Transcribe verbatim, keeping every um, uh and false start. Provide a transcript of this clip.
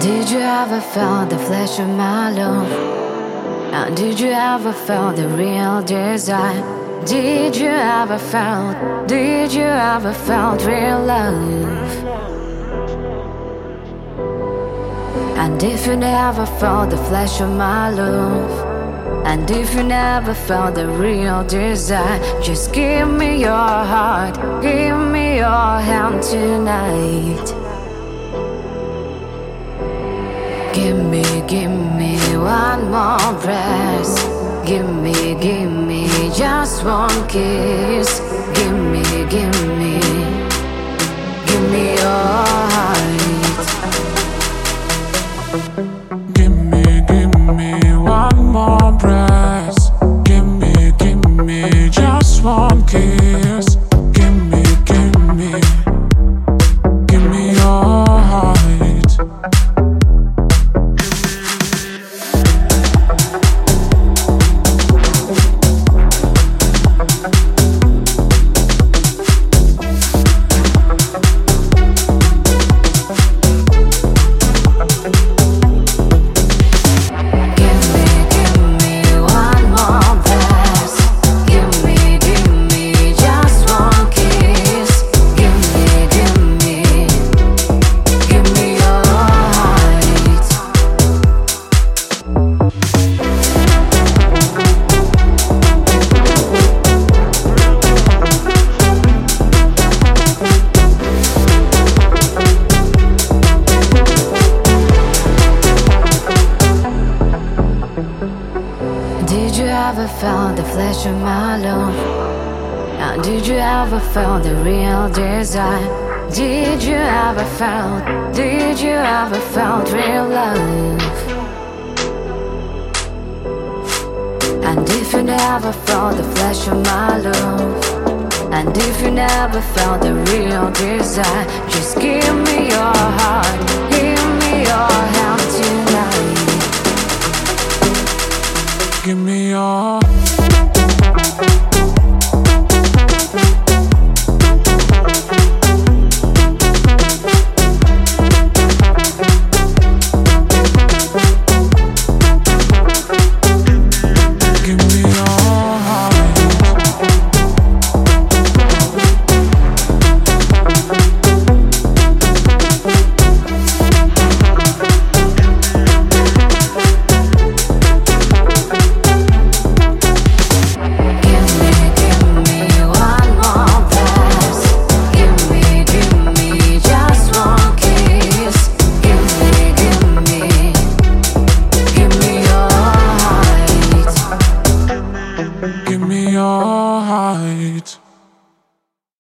Did you ever feel the flesh of my love? And did you ever feel the real desire? Did you ever felt, did you ever felt real love? And if you never felt the flesh of my love, and if you never felt the real desire, just give me your heart, give me your hand tonight. Give me, give me one more breath. Give me, give me just one kiss. Give me, give me, give me your heart. Give me, give me one more breath. Give me, give me just one kiss. Give me, give me, give me your heart. Did you ever feel the flesh of my love? And did you ever feel the real desire? Did you ever felt, did you ever felt real love? And if you never felt the flesh of my love, and if you never felt the real desire, just give me your heart.